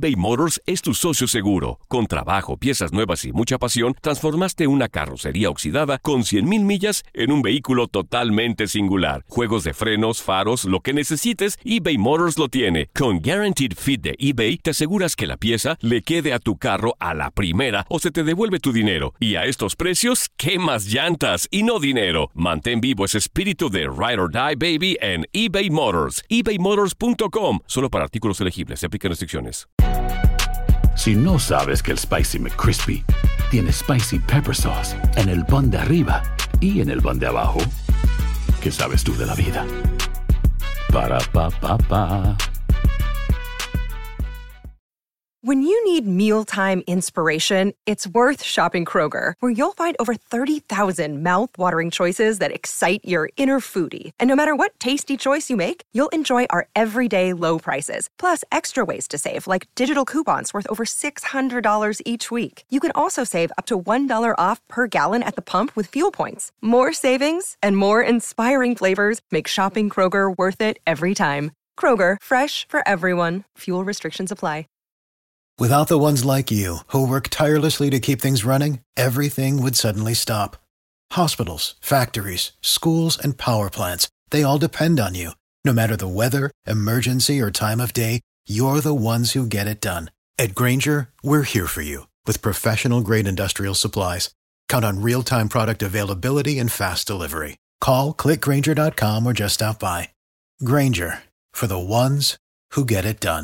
eBay Motors es tu socio seguro. Con trabajo, piezas nuevas y mucha pasión, transformaste una carrocería oxidada con 100,000 millas en un vehículo totalmente singular. Juegos de frenos, faros, lo que necesites, eBay Motors lo tiene. Con Guaranteed Fit de eBay, te aseguras que la pieza le quede a tu carro a la primera o se te devuelve tu dinero. Y a estos precios, ¿qué más llantas y no dinero? Mantén vivo ese espíritu de Ride or Die, baby, en eBay Motors. ebaymotors.com. Solo para artículos elegibles. Se aplican restricciones. Si no sabes que el Spicy McCrispy tiene Spicy Pepper Sauce en el pan de arriba y en el pan de abajo, ¿qué sabes tú de la vida? Para, pa, pa, pa. When you need mealtime inspiration, it's worth shopping Kroger, where you'll find over 30,000 mouth-watering choices that excite your inner foodie. And no matter what tasty choice you make, you'll enjoy our everyday low prices, plus extra ways to save, like digital coupons worth over $600 each week. You can also save up to $1 off per gallon at the pump with fuel points. More savings and more inspiring flavors make shopping Kroger worth it every time. Kroger, fresh for everyone. Fuel restrictions apply. Without the ones like you, who work tirelessly to keep things running, everything would suddenly stop. Hospitals, factories, schools, and power plants, they all depend on you. No matter the weather, emergency, or time of day, you're the ones who get it done. At Grainger, we're here for you with professional-grade industrial supplies. Count on real-time product availability and fast delivery. Call, click Grainger.com, or just stop by. Grainger, for the ones who get it done.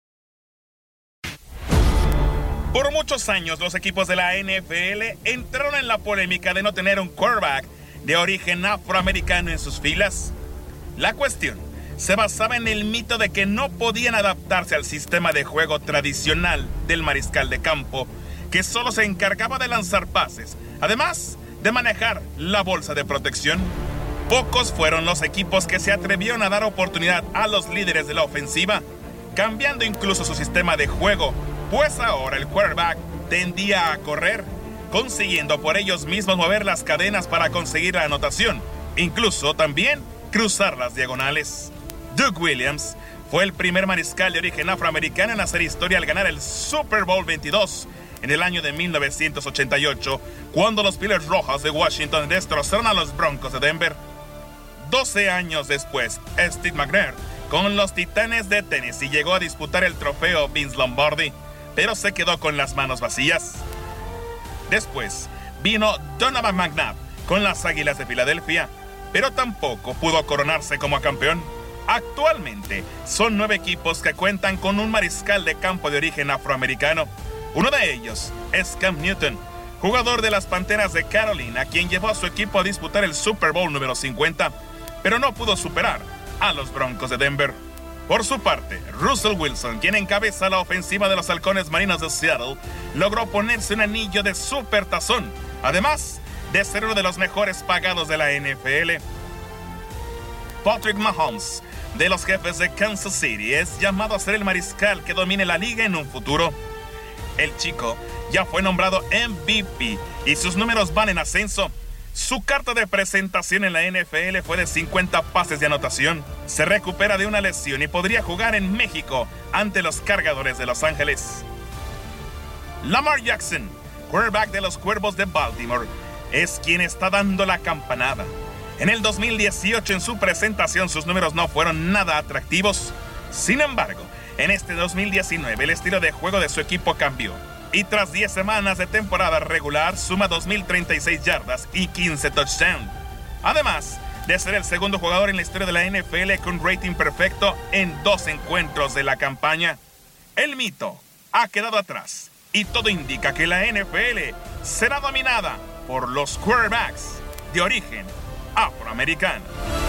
Por muchos años, los equipos de la NFL entraron en la polémica de no tener un quarterback de origen afroamericano en sus filas. La cuestión se basaba en el mito de que no podían adaptarse al sistema de juego tradicional del mariscal de campo, que solo se encargaba de lanzar pases, además de manejar la bolsa de protección. Pocos fueron los equipos que se atrevieron a dar oportunidad a los líderes de la ofensiva, cambiando incluso su sistema de juego, pues ahora el quarterback tendía a correr, consiguiendo por ellos mismos mover las cadenas para conseguir la anotación, incluso también cruzar las diagonales. Doug Williams fue el primer mariscal de origen afroamericano en hacer historia al ganar el Super Bowl 22 en el año de 1988, cuando los Píleros Rojas de Washington destrozaron a los Broncos de Denver. 12 años después, Steve McNair con los Titanes de Tennessee llegó a disputar el trofeo Vince Lombardi, pero se quedó con las manos vacías. Después vino Donovan McNabb con las Águilas de Filadelfia, pero tampoco pudo coronarse como campeón. Actualmente son 9 equipos que cuentan con un mariscal de campo de origen afroamericano. Uno de ellos es Cam Newton, jugador de las Panteras de Carolina, quien llevó a su equipo a disputar el Super Bowl número 50, pero no pudo superar a los Broncos de Denver. Por su parte, Russell Wilson, quien encabeza la ofensiva de los Halcones Marinos de Seattle, logró ponerse un anillo de supertazón, además de ser uno de los mejores pagados de la NFL. Patrick Mahomes, de los Jefes de Kansas City, es llamado a ser el mariscal que domine la liga en un futuro. El chico ya fue nombrado MVP y sus números van en ascenso. Su carta de presentación en la NFL fue de 50 pases de anotación. Se recupera de una lesión y podría jugar en México ante los Cargadores de Los Ángeles. Lamar Jackson, quarterback de los Cuervos de Baltimore, es quien está dando la campanada. En el 2018, en su presentación, sus números no fueron nada atractivos. Sin embargo, en este 2019, el estilo de juego de su equipo cambió. Y tras 10 semanas de temporada regular, suma 2,036 yardas y 15 touchdowns. Además de ser el segundo jugador en la historia de la NFL con rating perfecto en 2 encuentros de la campaña. El mito ha quedado atrás y todo indica que la NFL será dominada por los quarterbacks de origen afroamericano.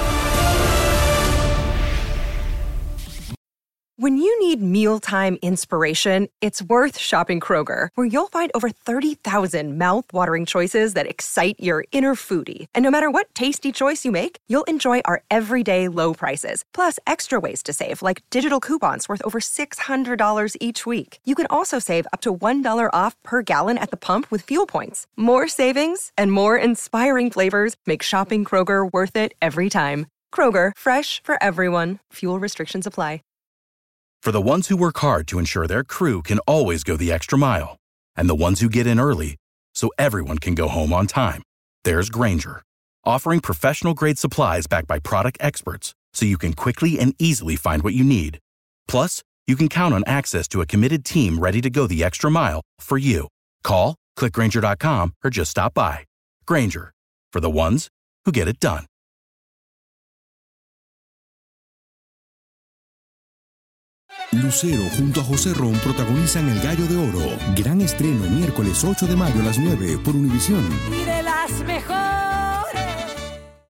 When you need mealtime inspiration, it's worth shopping Kroger, where you'll find over 30,000 mouth-watering choices that excite your inner foodie. And no matter what tasty choice you make, you'll enjoy our everyday low prices, plus extra ways to save, like digital coupons worth over $600 each week. You can also save up to $1 off per gallon at the pump with fuel points. More savings and more inspiring flavors make shopping Kroger worth it every time. Kroger, fresh for everyone. Fuel restrictions apply. For the ones who work hard to ensure their crew can always go the extra mile, and the ones who get in early so everyone can go home on time, there's Grainger, offering professional-grade supplies backed by product experts so you can quickly and easily find what you need. Plus, you can count on access to a committed team ready to go the extra mile for you. Call, click Grainger.com, or just stop by. Grainger, for the ones who get it done. Lucero junto a José Ron protagonizan El Gallo de Oro. Gran estreno miércoles 8 de mayo a las 9 por Univisión. Y de las mejores.